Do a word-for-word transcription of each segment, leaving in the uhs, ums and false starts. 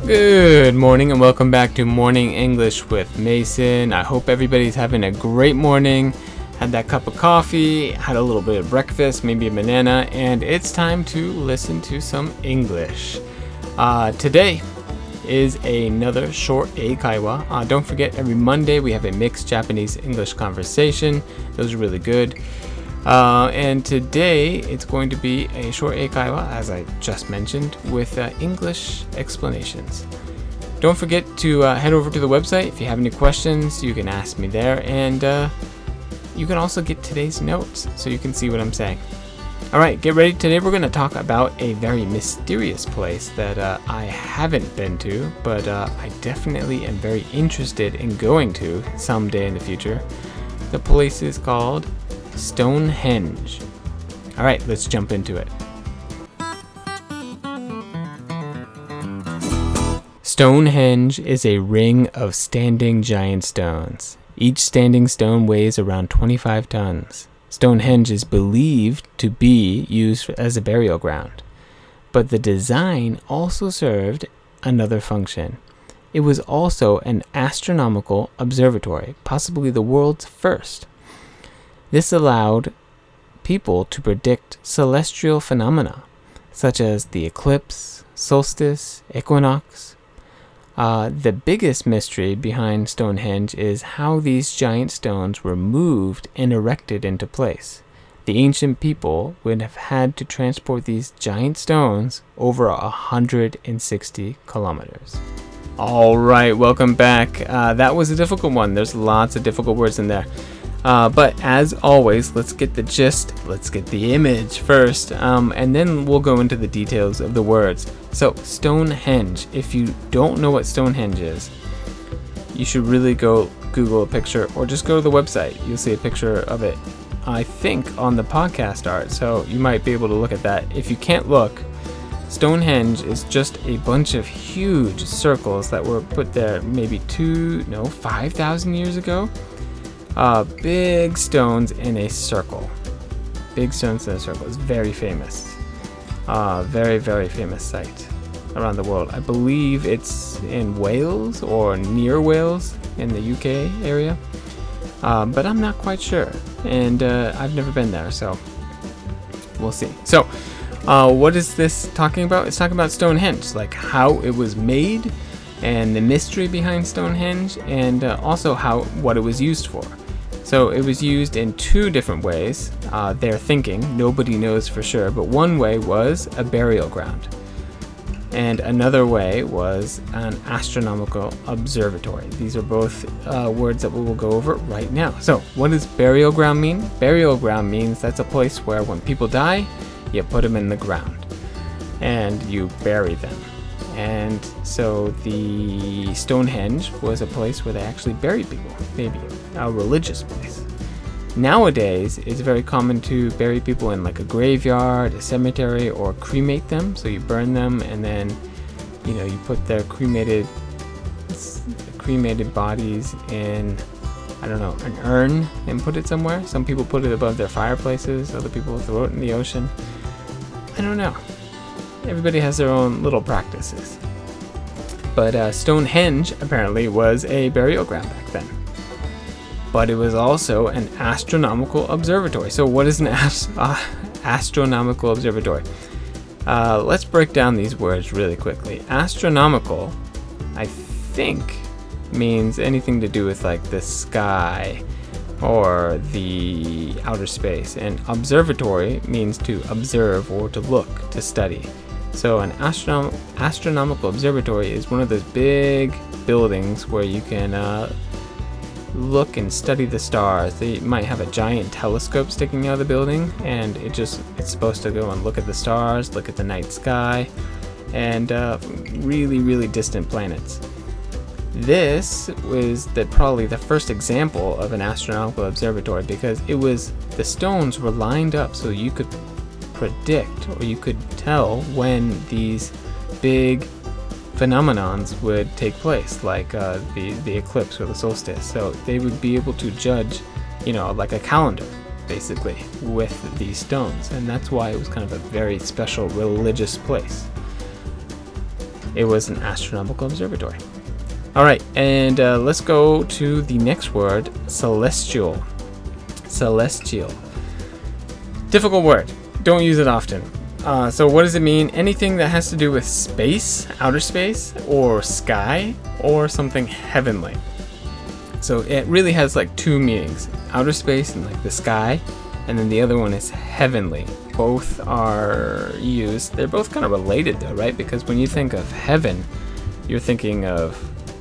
Good morning and welcome back to Morning English with Mason. I hope everybody's having a great morning. Had that cup of coffee, had a little bit of breakfast, maybe a banana, and it's time to listen to some English. Uh, today is another short eikaiwa. Uh, don't forget, every Monday we have a mixed Japanese-English conversation. Those are really good. Uh, and today it's going to be a short eikaiwa, as I just mentioned, with uh, English explanations. Don't forget to uh, head over to the website. If you have any questions, you can ask me there, and uh, you can also get today's notes so you can see what I'm saying. All right, get ready. Today we're going to talk about a very mysterious place that uh, I haven't been to, but uh, I definitely am very interested in going to someday in the future. The place is called Stonehenge. All right, let's jump into it. Stonehenge is a ring of standing giant stones. Each standing stone weighs around twenty-five tons. Stonehenge is believed to be used as a burial ground, but the design also served another function. It was also an astronomical observatory, possibly the world's first. This allowed people to predict celestial phenomena, such as the eclipse, solstice, equinox. Uh, the biggest mystery behind Stonehenge is how these giant stones were moved and erected into place. The ancient people would have had to transport these giant stones over one hundred sixty kilometers. All right, welcome back. Uh, that was a difficult one. There's lots of difficult words in there. Uh, but as always, let's get the gist, let's get the image first, um, and then we'll go into the details of the words. So, Stonehenge, if you don't know what Stonehenge is, you should really go Google a picture or just go to the website. You'll see a picture of it, I think, on the podcast art, so you might be able to look at that. If you can't look, Stonehenge is just a bunch of huge circles that were put there maybe two, no, five thousand years ago. Uh, big stones in a circle. Big stones in a circle. It's very famous. Uh, very, very famous site around the world. I believe it's in Wales or near Wales in the U K area. Uh, but I'm not quite sure. And uh, I've never been there, so we'll see. So, uh, what is this talking about? It's talking about Stonehenge, like how it was made and the mystery behind Stonehenge, and uh, also how what it was used for. So it was used in two different ways. Uh, they're thinking, nobody knows for sure, but one way was a burial ground. And another way was an astronomical observatory. These are both uh, words that we will go over right now. So what does burial ground mean? Burial ground means that's a place where when people die, you put them in the ground and you bury them. And so the Stonehenge was a place where they actually buried people, maybe a religious place. Nowadays, it's very common to bury people in like a graveyard, a cemetery, or cremate them. So you burn them and then, you know, you put their cremated cremated bodies in, I don't know, an urn and put it somewhere. Some people put it above their fireplaces. Other people throw it in the ocean. I don't know. Everybody has their own little practices. But uh, Stonehenge apparently was a burial ground back then. But it was also an astronomical observatory. So what is an ast- uh, astronomical observatory? Uh, let's break down these words really quickly. Astronomical, I think, means anything to do with like the sky or the outer space. And observatory means to observe or to look, to study. So an astronom- astronomical observatory is one of those big buildings where you can uh, look and study the stars. They might have a giant telescope sticking out of the building, and it just it's supposed to go and look at the stars, look at the night sky, and uh, really, really distant planets. This was the probably the first example of an astronomical observatory because it was the stones were lined up so you could predict or you could tell when these big phenomenons would take place, like uh, the, the eclipse or the solstice. So they would be able to judge, you know, like a calendar, basically, with these stones. And that's why it was kind of a very special religious place. it was an astronomical observatory. All right, and uh, let's go to the next word, celestial. Celestial. Difficult word. Don't use it often. Uh, so what does it mean? Anything that has to do with space, outer space, or sky, or something heavenly. So it really has like two meanings. Outer space and like the sky, and then the other one is heavenly. Both are used. They're both kind of related though, right? Because when you think of heaven, you're thinking of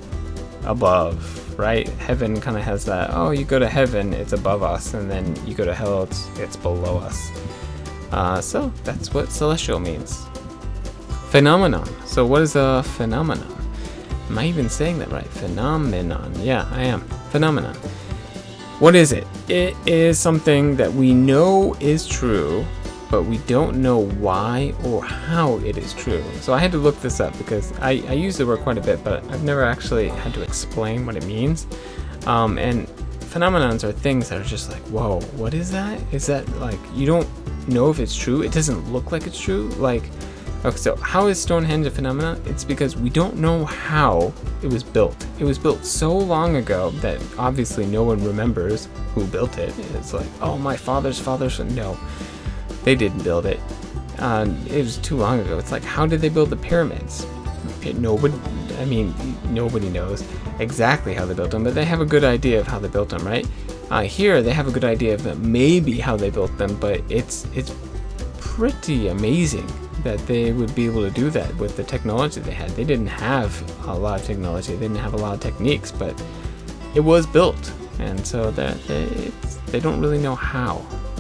above, right? Heaven kind of has that, oh, you go to heaven, it's above us, and then you go to hell, it's, it's below us. Uh, so that's what celestial means. Phenomenon. So what is a phenomenon? Am I even saying that right? Phenomenon. Yeah, I am. Phenomenon. What is it? It is something that we know is true, but we don't know why or how it is true. So I had to look this up because I, I use the word quite a bit, but I've never actually had to explain what it means. Um, and phenomenons are things that are just like, whoa, what is that? Is that like, you don't know if it's true? It doesn't look like it's true? Like, okay, so how is Stonehenge a phenomenon? It's because we don't know how it was built. It was built so long ago that obviously no one remembers who built it. It's like, oh, my father's father's, no. They didn't build it. Uh, it was too long ago. It's like, how did they build the pyramids? It, nobody, I mean, nobody knows exactly how they built them, but they have a good idea of how they built them, right? Uh, here, they have a good idea of maybe how they built them, but it's it's pretty amazing that they would be able to do that with the technology they had. They didn't have a lot of technology. They didn't have a lot of techniques, but it was built, and so that they, it's, they don't really know how.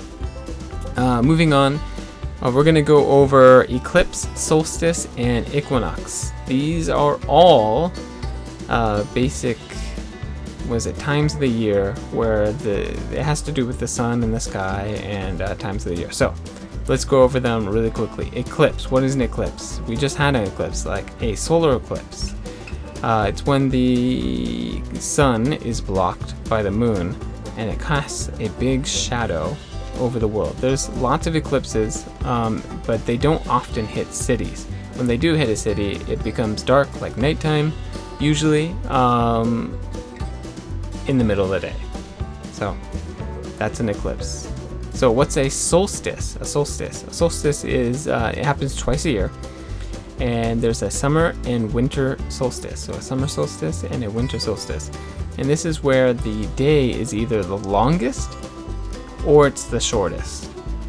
Uh, moving on, uh, we're going to go over eclipse, solstice, and equinox. These are all uh, basic, was it times of the year where the it has to do with the sun and the sky and uh, times of the year. So let's go over them really quickly. Eclipse. What is an eclipse? We just had an eclipse, like a solar eclipse. Uh, it's when the sun is blocked by the moon and it casts a big shadow over the world. There's lots of eclipses, um, but they don't often hit cities. When they do hit a city, it becomes dark, like nighttime, usually um, in the middle of the day. So that's an eclipse. So what's a solstice? A solstice. A solstice is, uh, it happens twice a year. And there's a summer and winter solstice. So a summer solstice and a winter solstice. And this is where the day is either the longest or it's the shortest.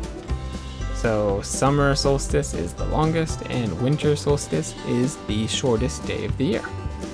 So summer solstice is the longest and winter solstice is the shortest day of the year.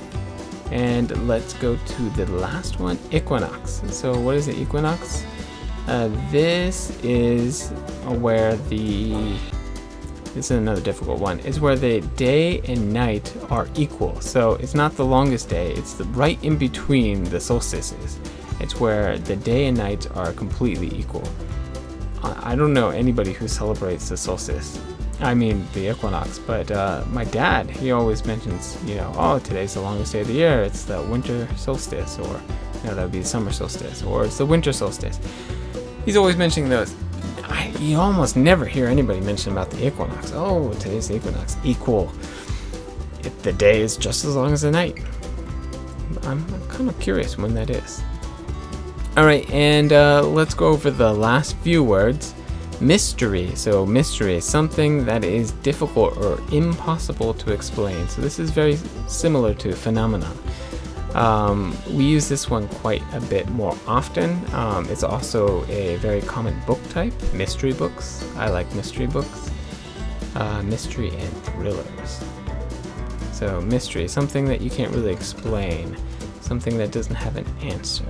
And let's go to the last one, equinox. So what is the equinox? Uh, this is where the, this is another difficult one, is where the day and night are equal. So it's not the longest day, it's the right in between the solstices. It's where the day and night are completely equal. I, I don't know anybody who celebrates the solstice. I mean the equinox, but uh, my dad, he always mentions, you know, oh, today's the longest day of the year, it's the winter solstice, or you know, that would be the summer solstice, or it's the winter solstice. He's always mentioning those. I, you almost never hear anybody mention about the equinox. Oh, today's the equinox. Equal. It, the day is just as long as the night. I'm, I'm kind of curious when that is. All right, and uh, let's go over the last few words. Mystery. So mystery is something that is difficult or impossible to explain. So this is very similar to phenomenon. Um, we use this one quite a bit more often. Um, it's also a very common book type, mystery books. I like mystery books. Uh, mystery and thrillers. So mystery, something that you can't really explain, something that doesn't have an answer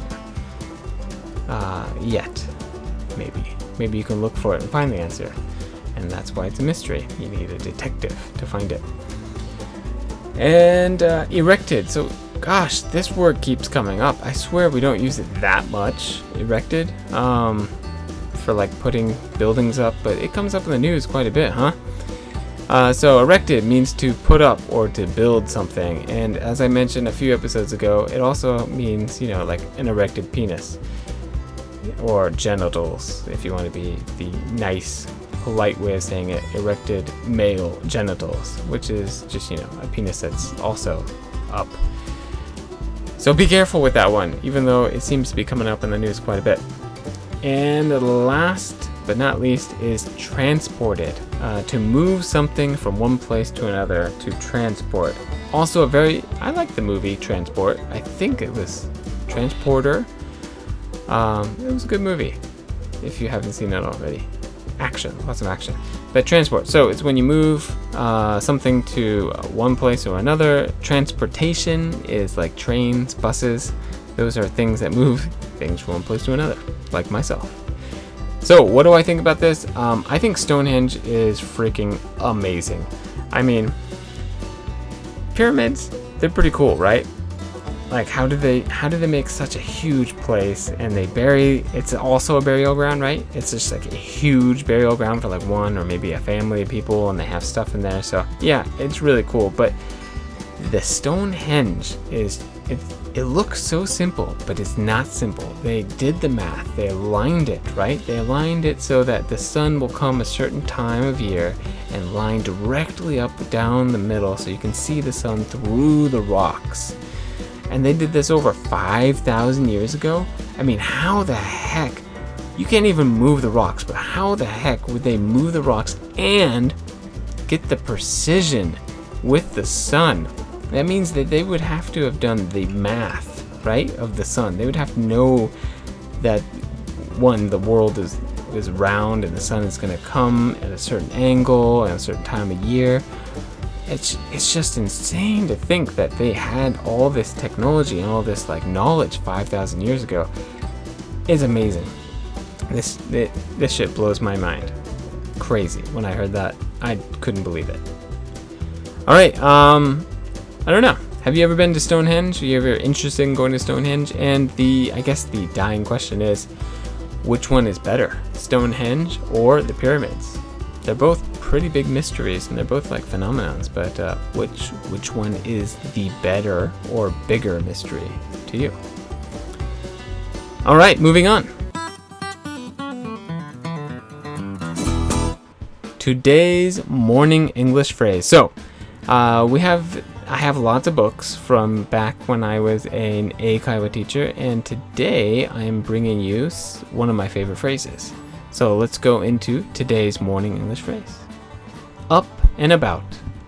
uh, yet, maybe. Maybe you can look for it and find the answer, and that's why it's a mystery. You need a detective to find it. And uh, erected. So, gosh, this word keeps coming up. I swear we don't use it that much. Erected, um, for like putting buildings up, but it comes up in the news quite a bit, huh? Uh, so erected means to put up or to build something, and as I mentioned a few episodes ago, it also means, you know, like an erected penis or genitals, if you want to be the nice polite way of saying it, erected male genitals, which is just, you know, a penis that's also up. So be careful with that one, even though it seems to be coming up in the news quite a bit. And the last but not least is transported. Uh, to move something from one place to another, to transport. Also a very, I like the movie Transport. I think it was Transporter. Um, it was a good movie, if you haven't seen it already. Action, lots of action. But transport, so it's when you move uh, something to one place or another. Transportation is like trains, buses. Those are things that move things from one place to another, like myself. So what do I think about this? Um, I think Stonehenge is freaking amazing. I mean, pyramids, they're pretty cool, right? Like, how do they how do they make such a huge place, and they bury, it's also a burial ground, right? It's just like a huge burial ground for like one or maybe a family of people, and they have stuff in there. So yeah, it's really cool. But the Stonehenge is, it, it looks so simple, but it's not simple. They did the math, they aligned it, right? They aligned it so that the sun will come a certain time of year and line directly up down the middle, so you can see the sun through the rocks. And they did this over five thousand years ago. I mean, how the heck? You can't even move the rocks, but how the heck would they move the rocks and get the precision with the sun? That means that they would have to have done the math, right, of the sun. They would have to know that, one, the world is, is round and the sun is going to come at a certain angle at a certain time of year. It's, it's just insane to think that they had all this technology and all this like knowledge five thousand years ago. It's amazing. This it, this shit blows my mind. Crazy. When I heard that, I couldn't believe it. All right, um, I don't know. Have you ever been to Stonehenge? Are you ever interested in going to Stonehenge? And the, I guess the dying question is, which one is better, Stonehenge or the pyramids? They're both pretty big mysteries, and they're both like phenomenons, but uh, which which one is the better or bigger mystery to you? All right, moving on. Today's morning English phrase. So, uh, we have I have lots of books from back when I was an Eikaiwa teacher, and today I am bringing you one of my favorite phrases. So let's go into today's morning English phrase. Up and about.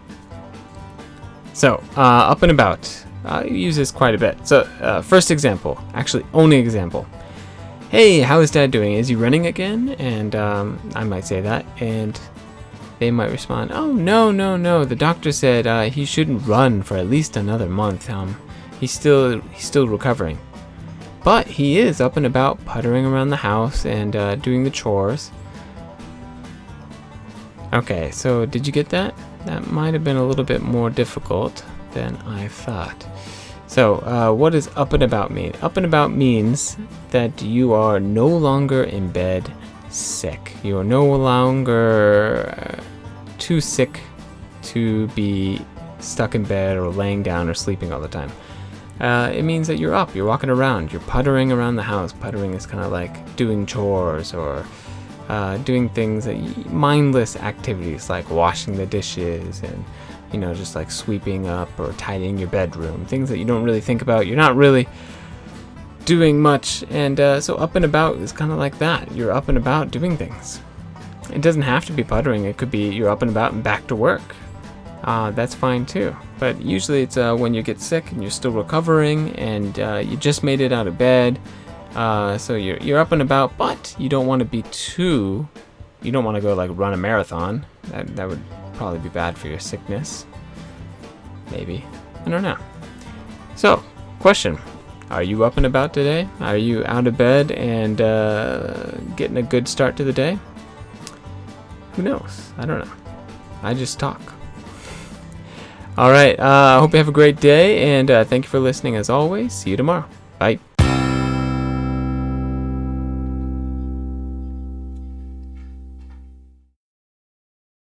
So, uh, up and about. I use this quite a bit. So, uh, first example, actually only example. Hey, how is Dad doing? Is he running again? And um, I might say that, and they might respond, oh, no, no, no. The doctor said uh, he shouldn't run for at least another month. Um, he's still he's still recovering. But he is up and about, puttering around the house and uh, doing the chores. Okay, so did you get that? That might have been a little bit more difficult than I thought. So, uh, what does up and about mean? Up and about means that you are no longer in bed sick. You are no longer uh, too sick to be stuck in bed or laying down or sleeping all the time. Uh, it means that you're up, you're walking around, you're puttering around the house. Puttering is kind of like doing chores or uh, doing things, that y- mindless activities like washing the dishes and, you know, just like sweeping up or tidying your bedroom. Things that you don't really think about. You're not really doing much. And uh, so up and about is kind of like that. You're up and about doing things. It doesn't have to be puttering. It could be you're up and about and back to work. Uh, that's fine too. But usually it's uh, when you get sick and you're still recovering and uh, you just made it out of bed. Uh, so you're you're up and about, but you don't want to be too. You don't want to go like run a marathon. That that would probably be bad for your sickness. Maybe. I don't know. So, question: are you up and about today? Are you out of bed and uh, getting a good start to the day? Who knows? I don't know. I just talk. All right. I uh, hope you have a great day, and uh, thank you for listening as always. See you tomorrow. Bye.